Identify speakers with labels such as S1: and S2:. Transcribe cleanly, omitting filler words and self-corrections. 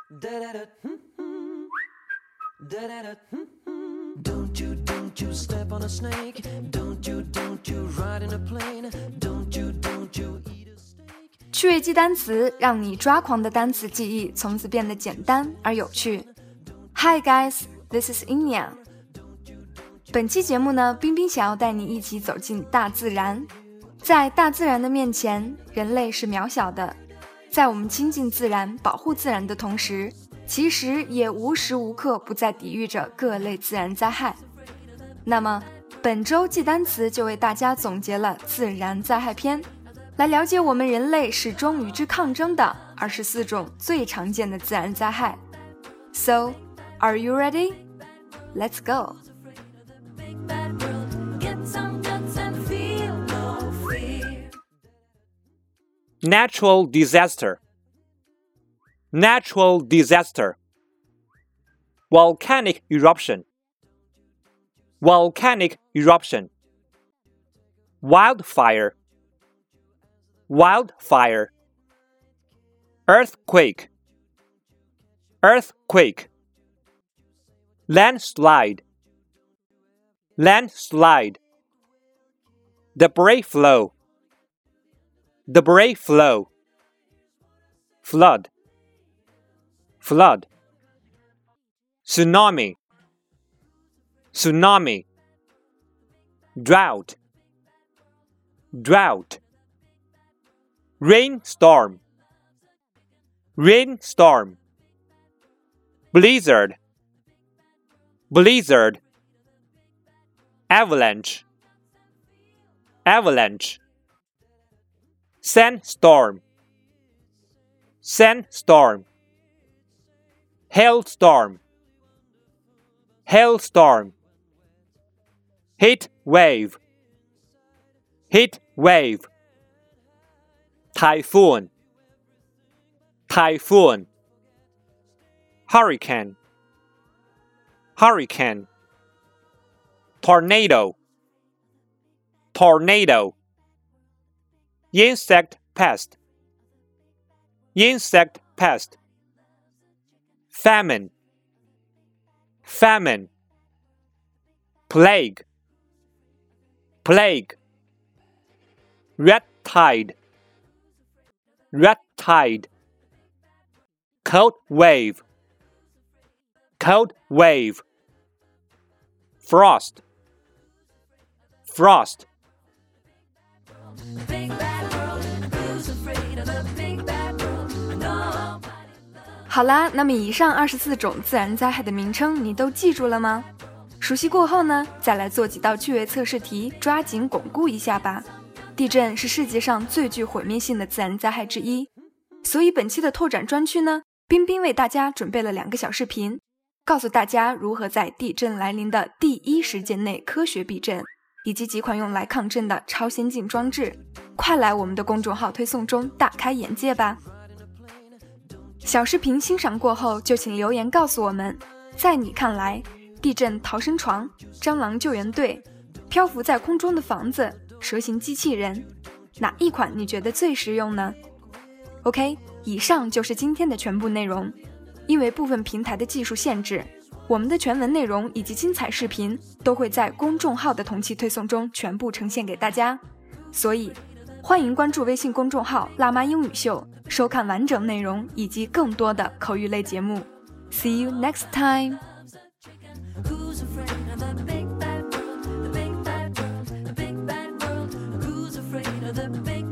S1: Don't you step on a snake. Don't you ride in a plane. Don't you eat a steak.
S2: 趣味记单词，让你抓狂的单词记忆从此变得简单而有趣。Hi guys, this is Inya。本期节目呢，冰冰想要带你一起走进大自然。在大自然的面前，人类是渺小的。在我们亲近自然、保护自然的同时，其实也无时无刻不在抵御着各类自然灾害。那么，本周记单词就为大家总结了自然灾害篇，来了解我们人类始终与之抗争的24种最常见的自然灾害。So, are you ready? Let's go!
S3: Natural disaster. Natural disaster. Volcanic eruption. Volcanic eruption. Wildfire. Wildfire. Earthquake. Earthquake. Landslide. Landslide. Debris flow. Debris flow. Flood. Flood. Tsunami. Tsunami. Drought. Drought. Rainstorm. Rainstorm. Blizzard. Blizzard. Avalanche. Avalanche. Sandstorm. Sandstorm. Hailstorm. Hailstorm. Heat wave. Heat wave. Typhoon. Typhoon. Hurricane. Hurricane. Tornado. Tornado. Insect pest. Insect pest. Famine. Famine. Plague. Plague. Red tide. Red tide. Cold wave. Cold wave. Frost. Frost.
S1: Big bad world, who's afraid of the big bad world? Nobody.
S2: 好啦，那么以上24种自然灾害的名称你都记住了吗？熟悉过后呢，再来做几道趣味测试题，抓紧巩固一下吧。地震是世界上最具毁灭性的自然灾害之一，所以本期的拓展专区呢，冰冰为大家准备了2个小视频，告诉大家如何在地震来临的第一时间内科学避震，以及几款用来抗震的超先进装置。快来我们的公众号推送中大开眼界吧。小视频欣赏过后，就请留言告诉我们，在你看来，地震逃生床、蟑螂救援队、漂浮在空中的房子、蛇形机器人，哪一款你觉得最实用呢？ OK， 以上就是今天的全部内容。因为部分平台的技术限制，我们的全文内容以及精彩视频都会在公众号的同期推送中全部呈现给大家，所以欢迎关注微信公众号辣妈英语秀，收看完整内容以及更多的口语类节目。 See you next time.
S1: Who's afraid of the big bad world? The big bad world, the big bad world. Who's afraid of the big